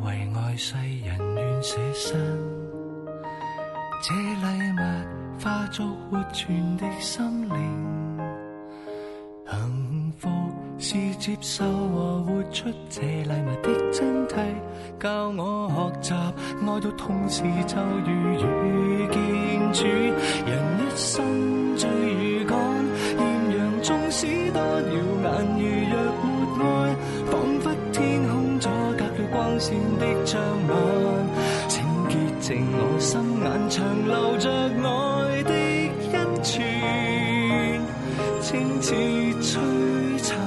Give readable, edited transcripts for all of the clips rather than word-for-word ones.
為愛世人願捨身，這禮物化作活存的心靈，幸福是接受和活出這禮物的真諦，教我學習愛到同時就如遇見主。人一生追如趕，豔陽縱使多耀眼，如若沒愛，彷彿天空阻隔了光線的障礙。請潔淨我心眼，長留着愛的恩泉，清似璀璨。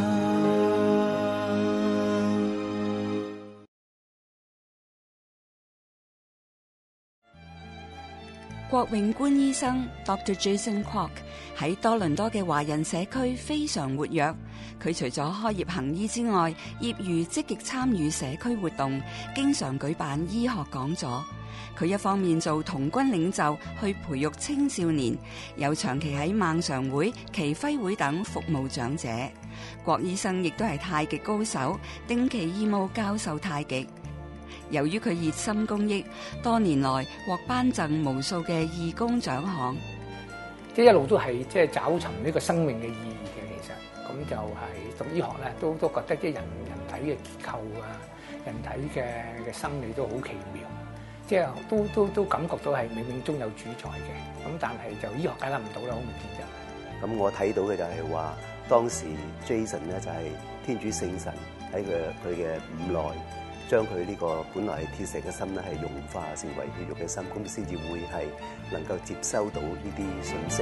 郭永官醫生 Dr. Jason Kwok 喺多倫多嘅華人社區非常活躍。佢除咗開業行醫之外，業餘積極參與社區活動，經常舉辦醫學講座。佢一方面做童軍領袖去培育青少年，又長期喺孟常會、耆輝會等服務長者。郭醫生亦都係太極高手，定期義務教授太極。由於佢熱心公益，多年來獲頒贈無數嘅義工獎項。 即係一路都係即係找尋呢個生命嘅意義嘅，其實咁就係讀醫學咧，都覺得即係人體嘅結構啊，人體嘅生理都好奇妙，即係都感覺到係冥冥中有主宰嘅。咁但係就醫學解答唔到啦，好明顯就。 咁我睇到嘅就係話，當時 Jason 咧就係天主聖神喺佢嘅五內，將佢呢個本來係鐵石嘅心咧，係融化成為血肉嘅心，咁先至會係能夠接收到呢啲信息。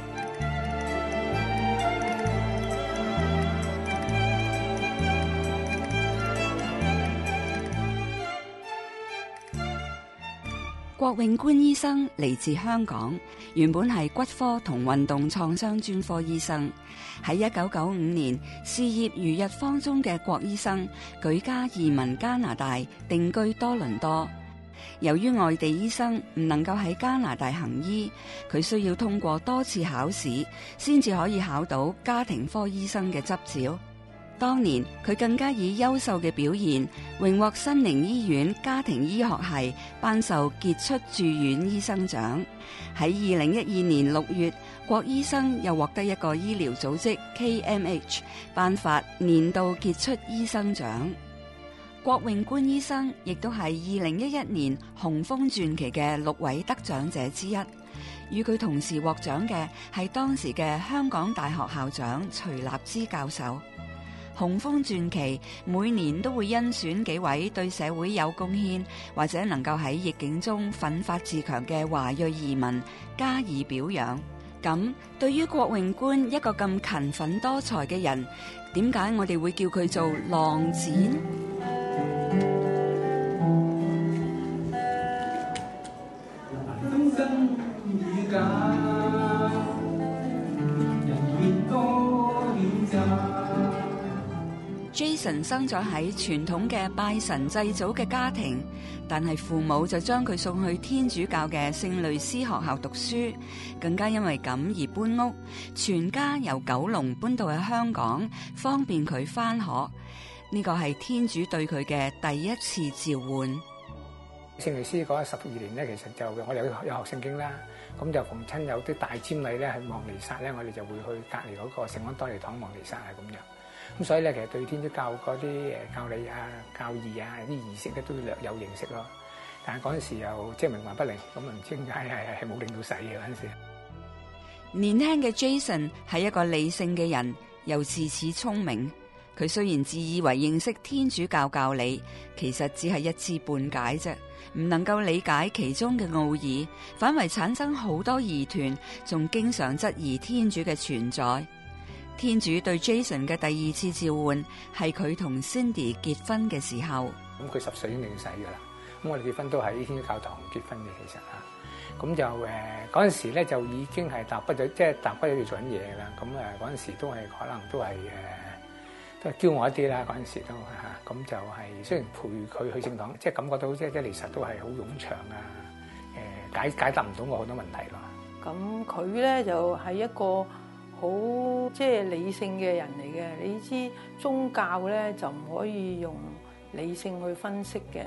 郭永官醫生嚟自香港，原本係骨科同運動創傷專科醫生。喺1995年，事業如日方中嘅郭醫生舉家移民加拿大，定居多倫多。由於外地醫生唔能夠喺加拿大行醫，佢需要通過多次考試，先至可以考到家庭科醫生嘅執照。當年佢更加以優秀嘅表現，榮獲新寧醫院家庭醫學系頒授傑出住院醫生獎。喺2012年6月，郭醫生又獲得一個醫療組織 KMH 頒發年度傑出醫生獎。郭永官醫生亦都係2011年雄風傳奇嘅6位得獎者之一。與佢同時獲獎嘅係當時嘅香港大學校長徐立之教授。雄風傳奇每年都會甄選幾位對社會有貢獻或者能夠喺逆境中奮發自強嘅華裔移民加以表揚。咁對於郭永官一個咁勤奮多才嘅人，點解我哋會叫佢做浪子？Jason 生咗喺傳統嘅拜神祭祖嘅家庭，但係父母就將佢送去天主教嘅聖類斯學校讀書，更加因為咁而搬屋，全家由九龍搬到去香港，方便佢返學。呢個係天主對佢嘅第一次召喚。 聖類斯嗰12年咧，其實就我哋有學聖經啦，咁就逢親有啲大瞻禮咧，係望彌撒咧，我哋就會去隔離嗰個聖安多尼堂望彌撒啊咁樣。咁所以咧，其實對天主教嗰啲教理啊、教義啊啲儀式咧，都略有認識咯。但係嗰陣時又即係冥頑不靈，咁唔知點解係冇領到洗嘅嗰陣時。 年輕嘅 Jason 係一個理性嘅人，又自恃聰明。佢雖然自以為認識天主教教理，其實只係一知半解啫，唔能夠理解其中嘅奧義，反為產生好多疑團，仲經常質疑天主嘅存在。天主對 Jason 嘅第二次召喚係佢同 Cindy 結婚嘅時候。 咁佢10歲已經領洗㗎啦。咁我哋結婚都喺天主教堂結婚嘅，其實啊，咁就嗰陣時咧就已經係踏畢咗，即係踏畢咗要做緊嘢㗎啦。咁嗰陣時都係可能都係驕傲一啲啦。嗰陣時都嚇，咁就係雖然陪佢去聖堂，即係感覺到即係彌撒都係好冗長啊，解答唔到我好多問題咯。 咁佢咧就係一個好即係理性嘅人嚟嘅。你知宗教咧就唔可以用理性去分析嘅，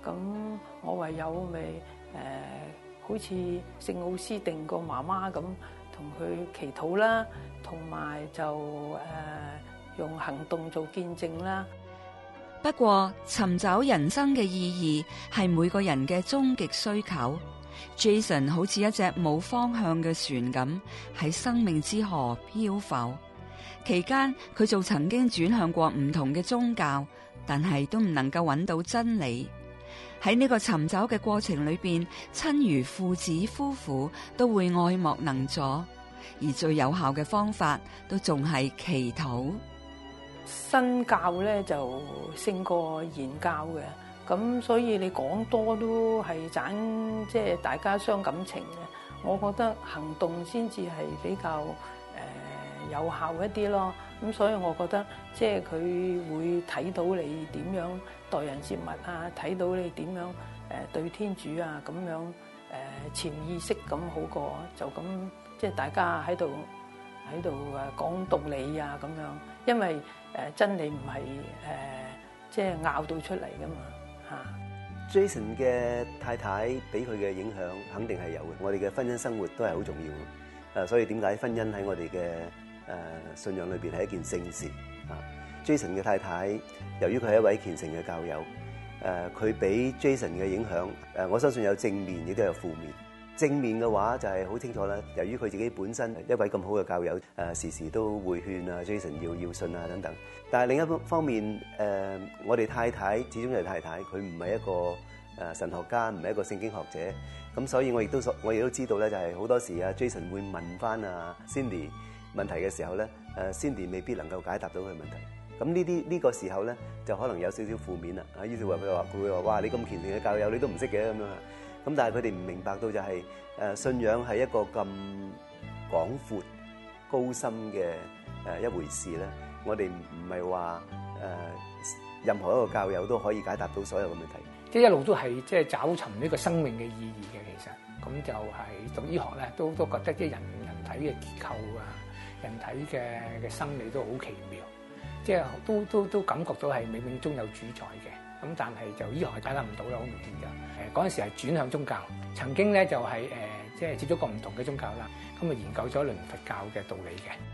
咁我唯有咪好似聖奧斯定個媽媽咁，同佢祈禱啦，同埋就用行動做見證啦。 不過尋找人生嘅意義係每個人嘅終極需求。Jason 好似一隻冇方向嘅船咁喺生命之河漂浮。期間佢就曾經轉向過唔同嘅宗教，但係都唔能夠揾到真理。喺呢個尋找嘅過程裏邊，親如父子夫婦都會愛莫能助，而最有效嘅方法都仲係祈禱。 新教咧就勝過現教嘅，咁所以你講多都係盞即係大家傷感情嘅。我覺得行動先至係比較有效一啲咯。咁所以我覺得即係佢會睇到你點樣待人接物啊，睇到你點樣對天主啊咁樣潛意識咁好過就咁即係大家喺度講道理啊咁樣，因為真理唔係即係拗到出嚟噶嘛嚇。 Jason 嘅太太俾佢嘅影響肯定係有嘅，我哋嘅婚姻生活都係好重要。所以點解婚姻喺我哋嘅信仰裏邊係一件聖事啊。Jason 嘅太太由於佢係一位虔誠嘅教友，佢俾 Jason 嘅影響，我相信有正面亦都有負面。正面嘅話就係好清楚啦，由於佢自己本身一位咁好嘅教友，時時都會勸啊 Jason 要信啊等等。但係另一方面，我哋太太始終係太太，佢唔係一個神學家，唔係一個聖經學者，咁所以我亦都知道咧，就係好多時啊 Jason 會問翻啊 Cindy 問題嘅時候咧，Cindy 未必能夠解答到佢問題。咁呢個時候咧，就可能有少少負面啦。於是佢會話哇，你咁虔誠嘅教友，你都唔識嘅咁樣。咁但係佢哋唔明白到就係信仰係一個咁廣闊高深嘅一回事咧。我哋唔係話任何一個教友都可以解答到所有嘅問題。 即係一路都係即係找尋呢個生命嘅意義嘅。其實咁就係讀醫學咧，都覺得即係人體嘅結構啊，人體嘅生理都好奇妙，即係都感覺到係冥冥中有主宰嘅。咁但係就醫學係解答唔到啦，好明顯就嗰陣時係轉向宗教，曾經咧就係即係接觸過唔同嘅宗教啦，咁啊研究咗倫佛教嘅道理嘅。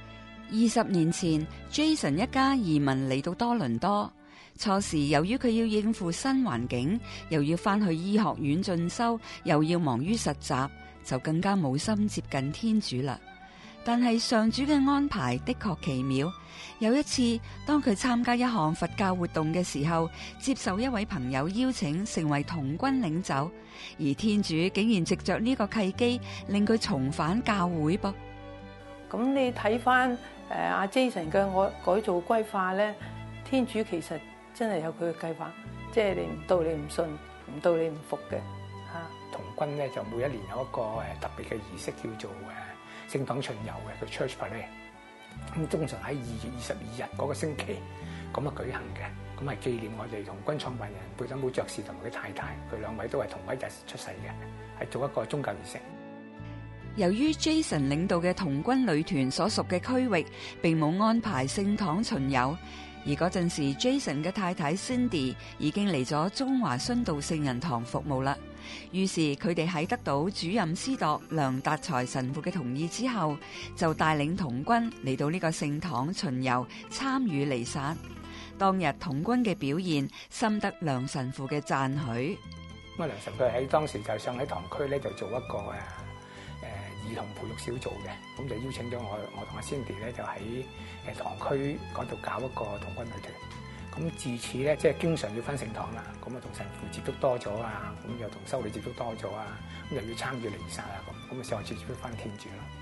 20年前 ，Jason 一家移民嚟到多倫多。初時由於佢要應付新環境，又要翻去醫學院進修，又要忙於實習，就更加冇心接近天主啦。但係上主嘅安排的確奇妙。有一次，當佢參加一項佛教活動嘅時候，接受一位朋友邀請成為童軍領袖，而天主竟然藉着呢個契機，令佢重返教會噃。 咁你睇翻阿 Jason 嘅改造歸化咧，天主其實真係有佢嘅計劃，即係你唔到你唔信，唔到你唔服嘅嚇。 童軍咧就每一年有一個特別嘅儀式叫做聖堂巡遊嘅，叫 Church Parade。咁通常喺2月22日嗰個星期咁啊舉行嘅，咁係紀念我哋童軍創辦人貝登堡爵士同埋佢太太，佢兩位都係同一日出世嘅，係做一個宗教儀式。 由於 Jason 領導嘅童軍旅團所屬嘅區域並冇安排聖堂巡遊，而嗰陣時 Jason 嘅太太 Cindy 已經嚟咗中華殉道聖人堂服務啦。於是佢哋喺得到主任司鐸梁達才神父嘅同意之後，就帶領童軍嚟到呢個聖堂巡遊，參與彌撒。當日童軍嘅表現深得梁神父嘅讚許。 咁啊，梁神父喺當時就想喺堂區咧就做一個兒童培育小組嘅，咁就邀請咗我同阿 Cindy 咧就喺堂區嗰度搞一個童軍旅團。咁自此咧，即係經常要返聖堂啦，咁啊同神父接觸多咗啊，咁又同修女接觸多咗啊，咁又要參與彌撒啊，咁啊上次接觸返天主咯。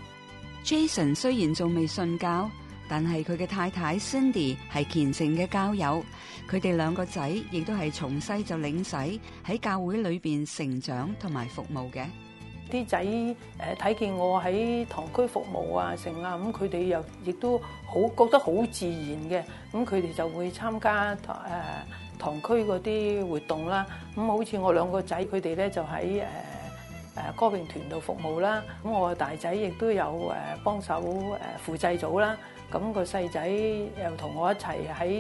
Jason 雖然仲未信教，但係佢嘅太太 Cindy 係虔誠嘅教友，佢哋兩個仔亦都係從細就領洗喺教會裏邊成長同埋服務嘅。 啲仔睇見我喺堂區服務啊成啊，咁佢哋又亦都好覺得好自然嘅，咁佢哋就會參加堂區嗰啲活動啦。咁好似我兩個仔，佢哋咧就喺歌詠團度服務啦。咁我個大仔亦都有幫手輔祭組啦。咁個細仔又同我一齊喺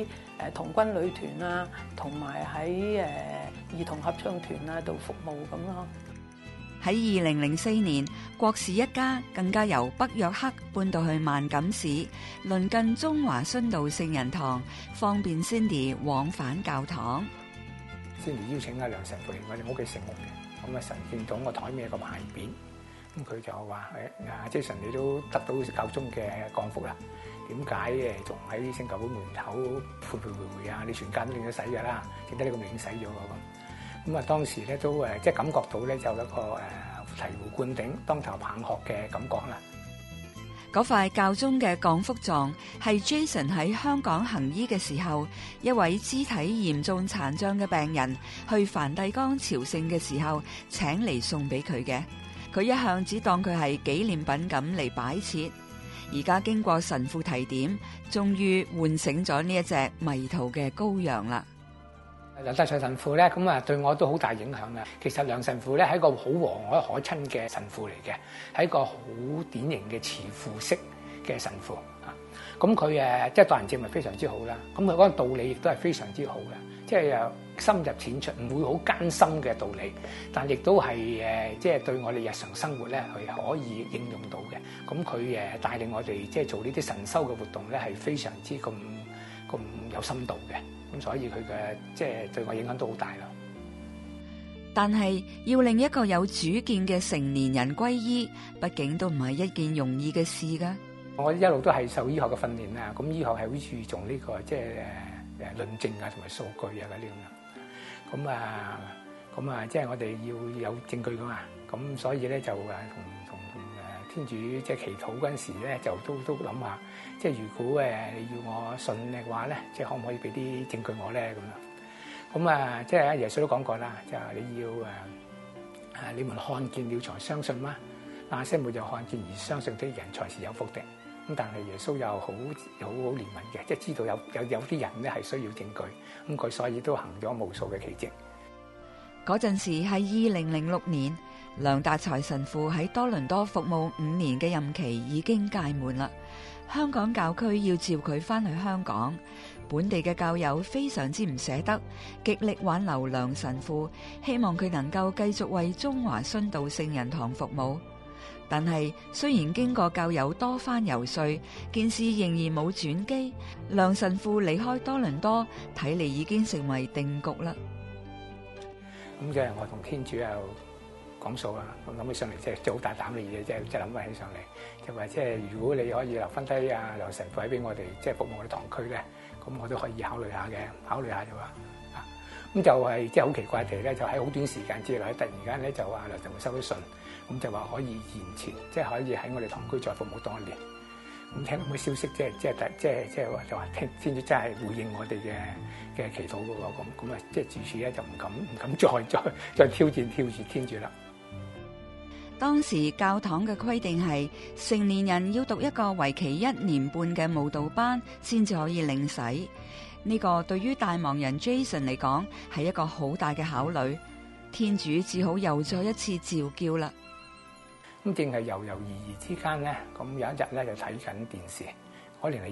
童軍旅團啊，同埋喺兒童合唱團啊度服務咁咯。 喺2004年，郭氏一家更加由北約克搬到去萬錦市，鄰近中華殉道聖人堂，方便 Cindy 往返教堂。 Cindy 邀請阿梁神父嚟我哋屋企食屋嘅，咁啊神見到我台面有個牌匾，咁佢就話阿 Jason 你都得到教宗嘅降福啦，點解仲喺聖教會門口徘徊回啊？你全家都領咗洗㗎啦，點解你咁領洗咗咁？咁啊，當時咧都即係感覺到咧，就有一個醍醐灌頂、當頭棒喝嘅感覺啦。 嗰塊教宗嘅降福狀係 Jason 喺香港行醫嘅時候，一位肢體嚴重殘障嘅病人去梵蒂岡朝聖嘅時候請嚟送俾佢嘅。佢一向只當佢係紀念品咁嚟擺設，而家經過神父提點，終於喚醒咗呢一隻迷途嘅羔羊啦。 梁大財神父咧，咁啊對我都好大影響啦。其實梁神父咧係一個好和藹可親嘅神父嚟嘅，係一個好典型嘅慈父式嘅神父啊。咁佢即係待人接物非常之好啦。咁佢嗰個道理亦都係非常之好嘅，即係又深入淺出，唔會好艱深嘅道理，但亦都係即係對我哋日常生活咧係可以應用到嘅。咁佢帶領我哋即係做呢啲神修嘅活動咧係非常之咁有深度嘅。咁所以佢嘅即係對我影響都好大咯。 但係要令一個有主見嘅成年人歸依，畢竟都唔係一件容易嘅事㗎。 我一路都係受醫學嘅訓練啦，咁醫學係好注重呢個即係論證啊同埋數據啊嗰啲咁啦。咁啊，即係我哋要有證據噶嘛。咁所以咧就同天主即係祈禱嗰陣時咧，就都諗下，即係如果你要我信嘅話咧，即係可唔可以俾啲證據我咧咁樣？咁啊，即係耶穌都講過啦，就係你要你們看見了才相信嗎？那些沒有看見而相信的人才是有福的。咁但係耶穌又好憐憫嘅，即係知道有啲人咧係需要證據，咁佢所以都行咗無數嘅奇蹟。 嗰陣時係2006年，梁達才神父喺多倫多服務5年嘅任期已經屆滿啦。香港教區要召佢翻去香港，本地嘅教友非常之唔捨得，極力挽留梁神父，希望佢能夠繼續為中華殉道聖人堂服務。但係雖然經過教友多番游說，件事仍然冇轉機，梁神父離開多倫多，睇嚟已經成為定局啦。 咁即係我同天主又講數啦，咁諗起上嚟即係好大膽嘅嘢，即係諗翻起上嚟，就話即係如果你可以留翻低梁神父喺俾我哋，即係服務我哋堂區咧，咁我都可以考慮下嘅，考慮下就話咁就係即係好奇怪地咧，就喺好短時間之內，突然間咧就話梁神父收到信，咁就話可以延前，即係可以喺我哋堂區再服務多一年。咁聽到咁嘅消息，即係話就話天主真係回應我哋嘅祈禱嘅喎，咁啊，即係自此咧就唔敢再挑戰天主啦。 當時教堂嘅規定係成年人要讀一個為期1年半嘅慕道班先至可以領洗，呢個對於大忙人 Jason 嚟講係一個好大嘅考慮。天主只好又再一次召叫啦。 咁正係猶猶豫豫之間咧，咁有一日咧就睇緊電視，嗰年係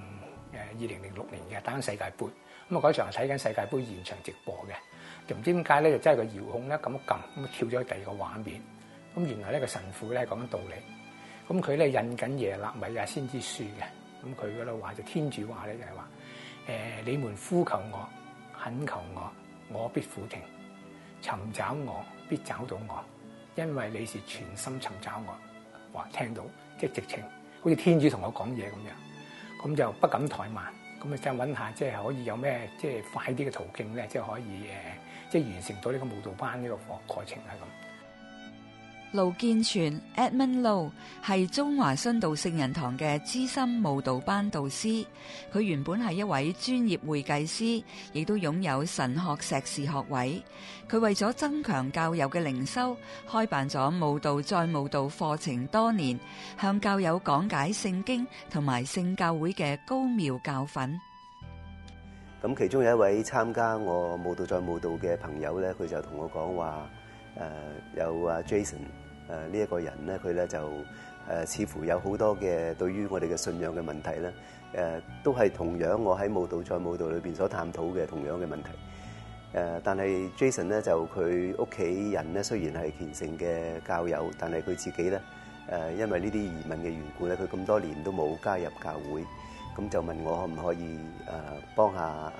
2006年嘅打緊世界盃，咁啊嗰場係睇緊世界盃現場直播嘅，就唔知點解咧就真係個遙控咧咁一撳，咁跳咗去第二個畫面，咁原來呢個神父咧講緊道理，咁佢咧印緊耶肋米亞先知書嘅，咁佢嗰度話就天主話咧就係話你們呼求我，懇求我，我必俯聽，尋找我必找到我。因為你是全心尋找我，話聽到即係直情，好似天主同我講嘢咁樣，咁就不敢怠慢，咁啊即係揾下即係可以有咩即係快啲嘅途徑咧，即係可以即係完成到呢個慕道班呢個課程係咁。 盧建全 Edmund Low 係中華殉道聖人堂嘅資深慕道班導師，佢原本係一位專業會計師，亦都擁有神學碩士學位。佢為咗增強教友嘅靈修，開辦咗慕道再慕道課程多年，向教友講解聖經同埋聖教會嘅高妙教訓。 咁其中有一位參加我慕道再慕道嘅朋友咧，佢就同我講話，有Jason 呢一個人咧，佢咧就似乎有好多嘅對於我哋嘅信仰嘅問題咧，都係同樣我喺舞蹈在舞蹈裏邊所探討嘅同樣嘅問題。但係 Jason 咧就佢屋企人咧雖然係虔誠嘅教友，但係佢自己咧因為呢啲移民嘅緣故咧，佢咁多年都冇加入教會，咁就問我可唔可以幫下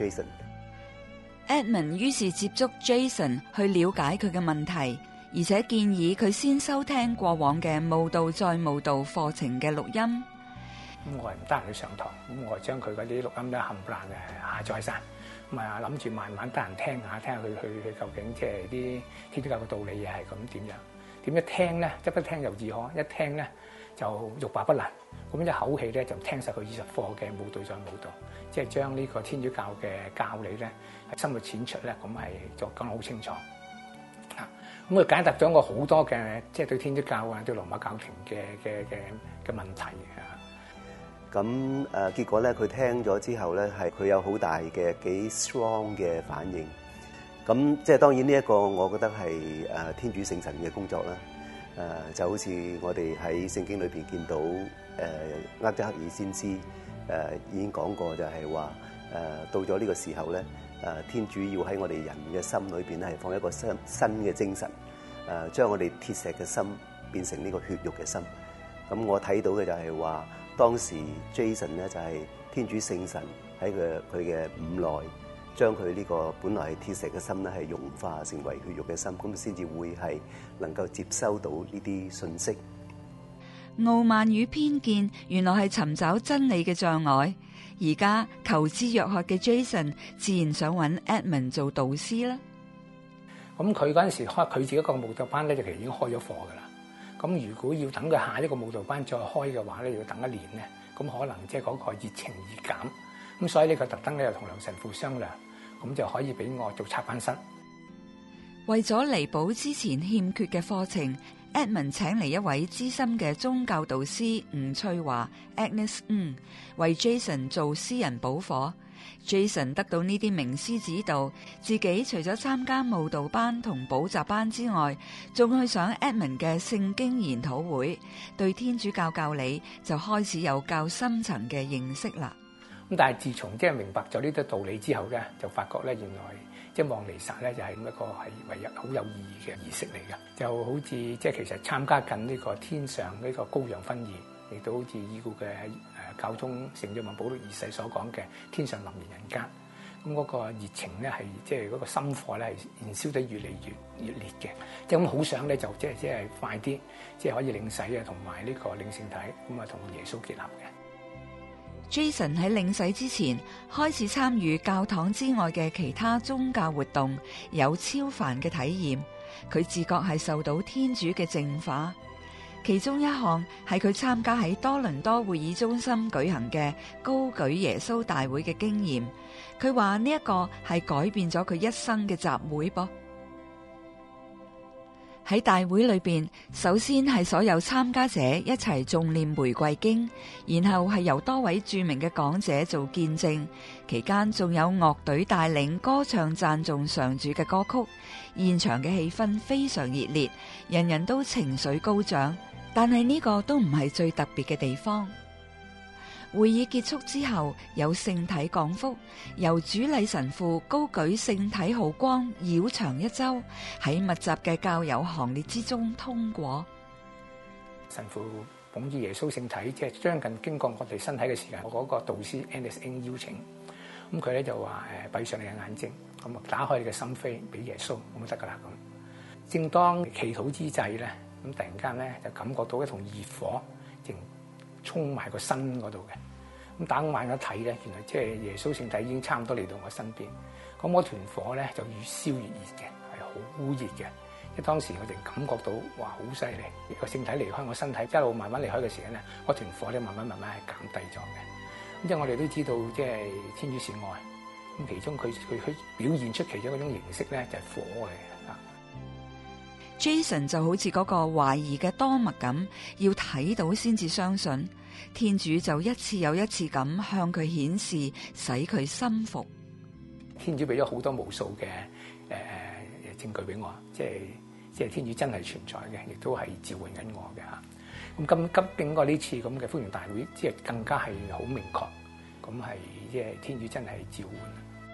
Jason。Edmund 於是接觸 Jason 去了解佢嘅問題，而且建議佢先收聽過往嘅舞蹈在舞蹈課程嘅錄音。 咁我係唔得閒去上堂，咁我將佢嗰啲錄音咧冚唪唥下載晒，咁啊諗住慢慢得閒聽下佢究竟即係啲天主教嘅道理嘢係咁點樣？點一聽咧，一不聽就自可，一聽咧就欲罷不能。咁一口氣咧就聽晒佢20課嘅舞蹈在舞蹈，即係將呢個天主教嘅教理咧係深入淺出咧，咁係就講得好清楚。咁佢解答咗我好多嘅即係對天主教啊、對羅馬教廷嘅問題啊。 咁結果咧，佢聽咗之後咧，係佢有好大嘅幾 strong 嘅反應。咁即係當然呢一個，我覺得係天主聖神嘅工作啦。就好似我哋喺聖經裏邊見到厄則克爾先知已經講過，就係話到咗呢個時候咧，天主要喺我哋人嘅心裏邊咧係放一個新嘅精神，將我哋鐵石嘅心變成呢個血肉嘅心。咁我睇到嘅就係話，當時 Jason 咧就係天主聖神喺佢嘅五內，將佢呢個本來係鐵石嘅心咧係融化成為血肉嘅心，咁先至會係能夠接收到呢啲信息。 傲慢與偏見原來係尋找真理嘅障礙。而家求知若渴嘅 Jason 自然想揾 Edmund 做導師啦。 咁佢嗰陣時開佢自己一個舞蹈班咧，就其實已經開咗課噶啦。咁如果要等佢下一個舞蹈班再開嘅話咧，要等1年咧，咁可能即係嗰個熱情而減。咁所以呢個特登咧又同梁神父商量，咁就可以俾我做插班生。 為咗彌補之前欠缺嘅課程，Edmund 請嚟一位資深嘅宗教導師吳翠華 Agnes 為 Jason 做私人補課。Jason 得到呢啲名師指導，自己除咗參加舞蹈班同補習班之外，仲去上 Edmund 嘅聖經研討會，對天主教教理就開始有較深層嘅認識啦。 咁但係自從即係明白咗呢啲道理之後咧，就發覺咧原來即係望彌撒咧就係一個係唯一好有意義嘅儀式嚟嘅，就好似即係其實參加緊呢個天上呢個羔羊婚宴，亦都好似已故嘅教宗聖若望保祿二世所講嘅天上臨現人間。咁嗰個熱情咧係即係嗰個心火咧係燃燒得越嚟越烈嘅，即係咁好想咧就即係快啲即係可以領洗啊，同埋呢個領聖體咁啊同耶穌結合嘅。 Jason 喺領洗之前開始參與教堂之外嘅其他宗教活動，有超凡嘅體驗。佢自覺係受到天主嘅淨化，其中一項係佢參加喺多倫多會議中心舉行嘅高舉耶穌大會嘅經驗。佢話呢一個係改變咗佢一生嘅集會噃。喺大會裏邊，首先係所有參加者一齊誦念玫瑰經，然後係由多位著名嘅講者做見證，期間仲有樂隊帶領歌唱讚頌上主嘅歌曲，現場嘅氣氛非常熱烈，人人都情緒高漲。但係呢個都唔係最特別嘅地方。會議結束之後，有聖體降福，由主禮神父高舉聖體號光繞場一周，喺密集嘅教友行列之中通過。 神父捧住耶穌聖體，即係將近經過我哋身體嘅時間，我嗰個導師 NSN 邀請，咁佢咧就話閉上你嘅眼睛，咁啊打開你嘅心扉俾耶穌，咁就得噶啦咁。正當祈禱之際咧，咁突然間咧就感覺到一同熱火正衝埋個身嗰度嘅。咁打眼一睇咧，原來即係耶穌聖體已經差唔多嚟到我身邊。咁嗰團火咧就越燒越熱嘅，係好熱嘅。即係當時我哋感覺到哇，好犀利！個聖體離開我身體，一路慢慢離開嘅時間咧，嗰團火咧慢慢係減低咗嘅。咁即係我哋都知道，即係天主是愛。咁其中佢表現出其中一種形式咧，就係火嚟嘅。 Jason 就好似嗰個懷疑嘅多默咁，要睇到先至相信。天主就一次又一次咁向佢顯示，使佢心服。 天主俾咗好多無數嘅證據俾我，即係天主真係存在嘅，亦都係召喚緊我嘅嚇。 咁經過呢次咁嘅歡迎大會，即係更加係好明確，咁係即係天主真係召喚。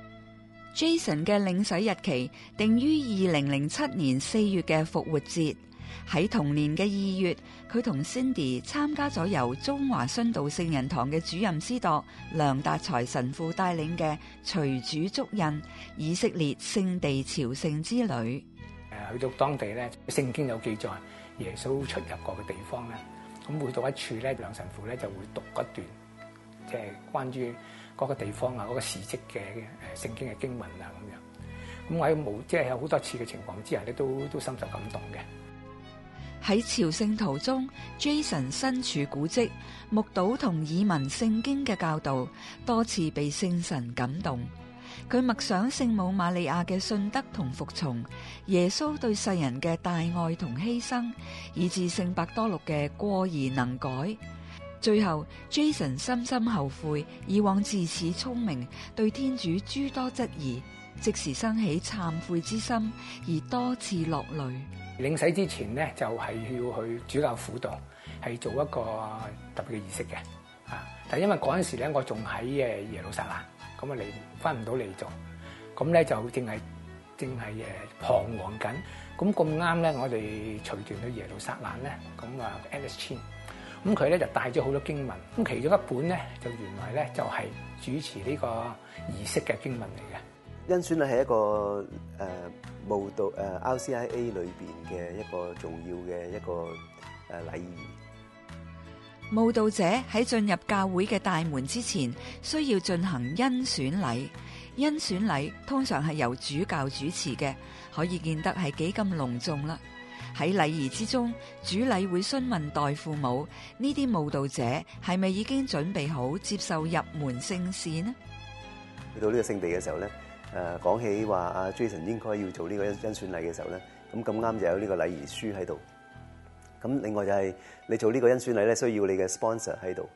Jason 嘅領洗日期定於2007年4月嘅復活節。喺同年嘅2月，佢同 Cindy 參加咗由中華殉道聖人堂嘅主任司鐸梁達才神父帶領嘅隨主足印以色列聖地朝聖之旅。 去到當地咧，聖經有記載耶穌出入過嘅地方咧，咁每到一處咧，梁神父咧就會讀一段，即係關於嗰個地方啊、嗰個事蹟嘅聖經嘅經文啊咁樣。咁我喺即係有好多次嘅情況之下咧，都深受感動嘅。 喺朝聖途中 ，Jason 身處古蹟，目睹同耳聞聖經嘅教導，多次被聖神感動。佢默想聖母瑪利亞嘅信德同服從，耶穌對世人嘅大愛同犧牲，以至聖伯多祿嘅過而能改。最後 ，Jason 深深後悔以往自恃聰明，對天主諸多質疑，即時生起懺悔之心，而多次落淚。 領洗之前咧，就係要去主教府度，係做一個特別嘅儀式嘅。但係因為嗰陣時咧，我仲喺耶路撒冷，咁啊翻唔到嚟做，咁咧就淨係彷徨緊。咁啱咧，我哋隨團去耶路撒冷咧，咁啊 Alice Chin，咁佢咧就帶咗好多經文，咁其中一本咧就原來咧就係主持呢個儀式嘅經文嚟嘅。 恩選禮係一個慕道RCIA 裏邊嘅一個重要嘅一個禮儀。 慕道者喺進入教會嘅大門之前，需要進行恩選禮。恩選禮通常係由主教主持嘅，可以見得係幾咁隆重啦。喺禮儀之中，主禮會詢問代父母，呢啲慕道者係咪已經準備好接受入門聖事呢？ 去到呢個聖地嘅時候咧。講起話阿 Jason 應該要做呢個恩選禮嘅時候咧，咁啱就有呢個禮儀書喺度。咁另外就係你做呢個恩選禮咧，需要你嘅 sponsor 喺度。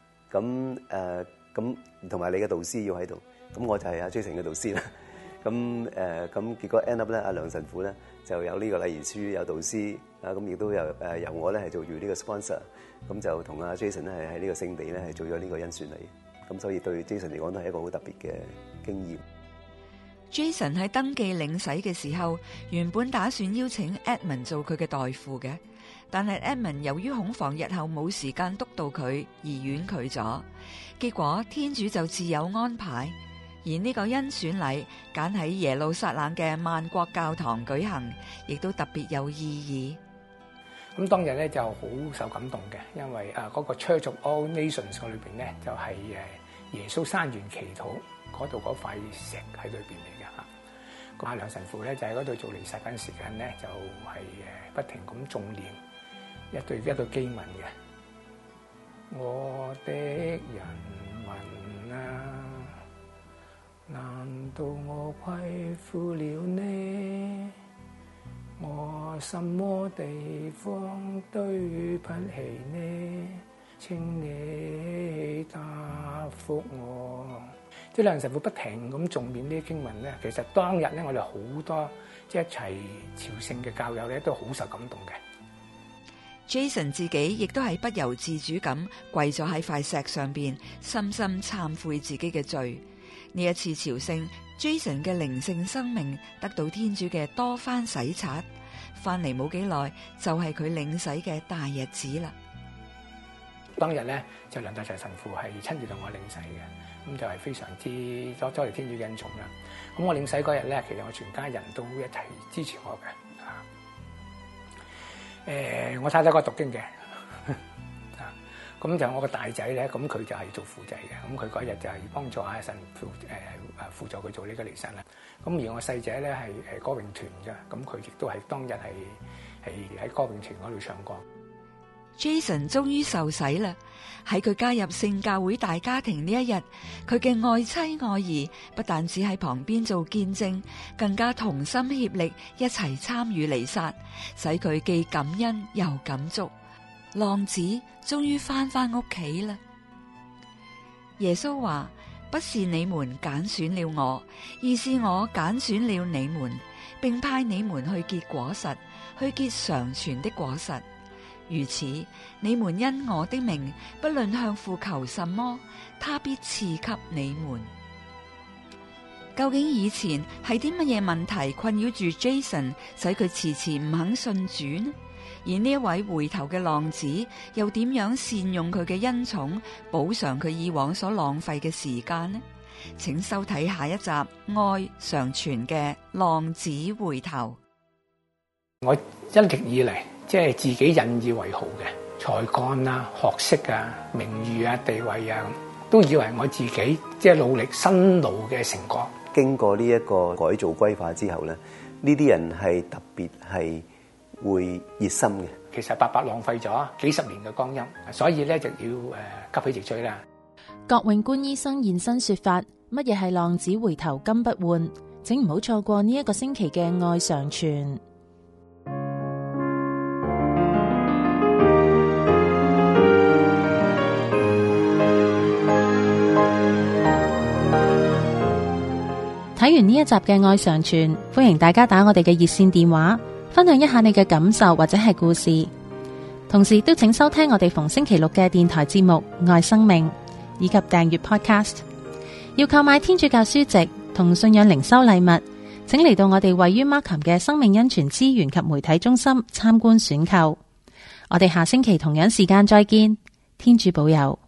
咁同埋你嘅導師要喺度。咁我就係阿 Jason 嘅導師啦。咁結果 end up 咧，阿梁神父咧就有呢個禮儀書，有導師啊，咁亦都由我咧係做住呢個 sponsor。咁就同阿 Jason 咧係喺呢個聖地咧係做咗呢個恩選禮。咁所以對 Jason 嚟講都係一個好特別嘅經驗。 Jason 喺登記領洗嘅時候，原本打算邀請 Edmund 做佢嘅代父嘅，但係 Edmund 由於恐防日後冇時間督導佢而婉拒咗。結果天主就自有安排，而呢個恩選禮揀喺耶路撒冷嘅萬國教堂舉行，亦都特別有意義。 咁當日咧就好受感動嘅，因為嗰個 Church of All Nations 裏邊咧就係耶穌山園祈禱嗰度嗰塊石喺裏邊嚟嘅嚇。阿梁神父咧就喺嗰度做彌撒嗰陣時間咧，就係不停咁誦念一對經文嘅。我的人民啊，難道我虧負了呢？我什麼地方對不起呢？請你答覆我。即係梁神父不停咁誦念呢啲經文咧，其實當日咧我哋好多即係一齊朝聖嘅教友咧都好受感動嘅。 Jason 自己亦都係不由自主咁跪咗喺塊石上邊，深深懺悔自己嘅罪。呢一次朝聖 ，Jason 嘅靈性生命得到天主嘅多番洗刷，翻嚟冇幾耐就係佢領洗嘅大日子啦。 當日咧就梁大齊神父係親自同我領洗嘅，咁就係非常之多謝天主嘅恩寵啦。咁我領洗嗰日咧，其實我全家人都一齊支持我嘅。我太太個讀經嘅，咁就我個大仔咧，咁佢就係做輔祭嘅，咁佢嗰日就係幫助阿神父輔助佢做呢個彌撒啦。咁而我細仔咧係歌詠團嘅，咁佢亦都係當日係喺歌詠團嗰度唱歌。 Jason 終於受洗啦！喺佢加入聖教會大家庭呢一日，佢嘅愛妻愛兒不但只喺旁邊做見證，更加同心協力一齊參與彌撒，使佢既感恩又感觸。浪子終於翻屋企啦！耶穌話：不是你們揀選了我，而是我揀選了你們，並派你們去結果實，去結常存的果實。 如此，你們因我的名，不論向父求什麼，他必賜給你們。究竟以前係啲乜嘢問題困擾住 Jason，使佢遲遲唔肯信主呢？而呢一位回頭嘅浪子，又點樣善用佢嘅恩寵，補償佢以往所浪費嘅時間呢？請收睇下一集《愛常傳》嘅浪子回頭。 我一直以嚟即係自己引以為豪嘅才幹啊、學識啊、名譽啊、地位啊，都以為我自己即係努力辛勞嘅成果。 經過呢一個改造歸化之後咧，呢啲人係特別係會熱心嘅。 其實白白浪費咗幾十年嘅光陰，所以咧就要急起直追啦。 郭永官醫生現身說法，乜嘢係浪子回頭金不換？請唔好錯過呢一個星期嘅愛常傳。睇完呢一集嘅愛常傳，歡迎大家打我哋嘅熱線電話，分享一下你嘅感受或者係故事。同時都請收聽我哋逢星期六嘅電台節目《愛生命》，以及訂閱 Podcast。要購買天主教書籍同信仰靈修禮物，請嚟到我哋位於 Markham 嘅生命恩泉資源及媒體中心參觀選購。我哋下星期同樣時間再見，天主保佑。